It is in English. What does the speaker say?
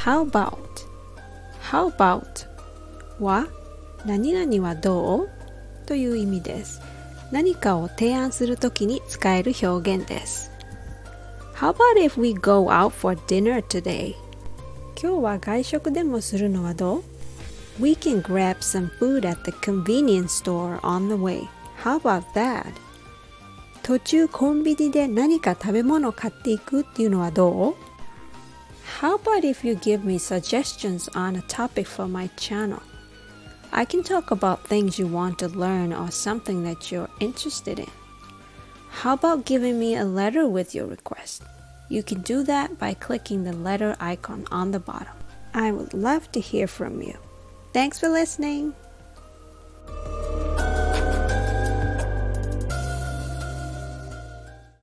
How about? How about は何々はどうという意味です。何かを提案するときに使える表現です。How about if we go out for dinner today? 今日は外食でもするのはどう？ We can grab some food at the convenience store on the way. How about that? 途中コンビニで何か食べ物を買っていくっていうのはどう？ How about if you give me suggestions on a topic for my channel? I can talk about things you want to learn or something that you're interested in. How about giving me a letter with your request? You can do that by clicking the letter icon on the bottom. I would love to hear from you. Thanks for listening.